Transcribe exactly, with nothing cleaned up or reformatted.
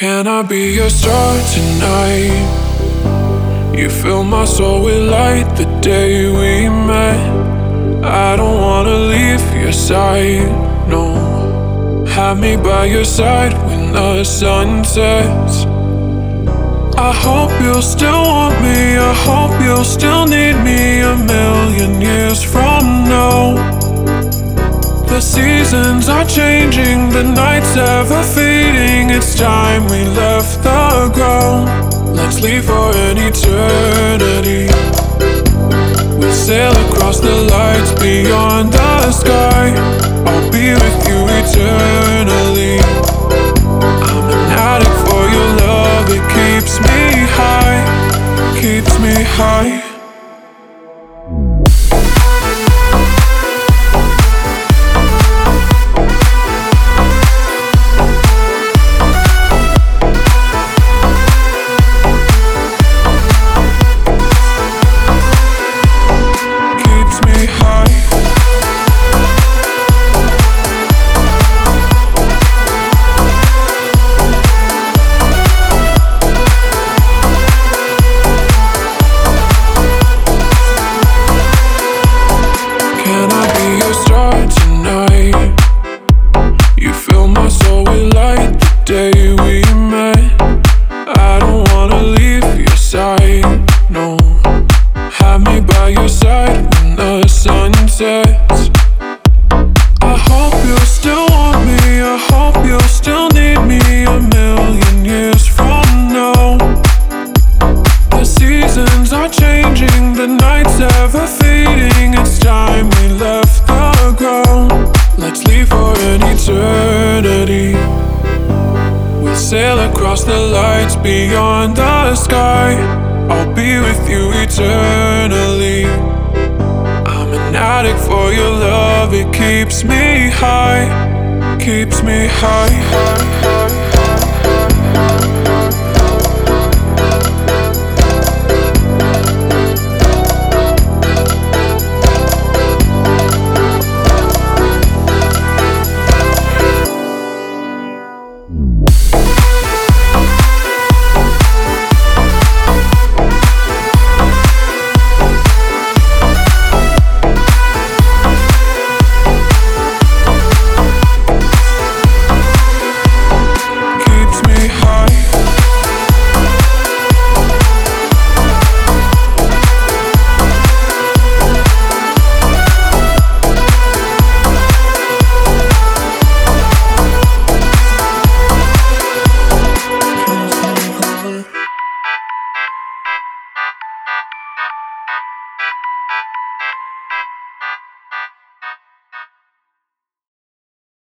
Can I be your star tonight? You fill my soul with light the day we met. I don't wanna leave your side, no. Have me by your side when the sun sets. I hope you'll still want me, I hope you'll still need me a million years from now. The seasons are changing, the nights ever fading. It's time we left the ground. Let's leave for an eternity. We'll sail across the lights beyond the sky. I'll be with you eternally. I'm an addict for your love, it keeps me high, keeps me high. No, have me by your side when the sun sets. I hope you'll still want me, I hope you'll still need me a million years from now. The seasons are changing, the nights ever fading. It's time we left the ground. Let's leave for an eternity. We'll sail across the lights beyond the sky. I'll be with you eternally. I'm an addict for your love, it keeps me high, keeps me high.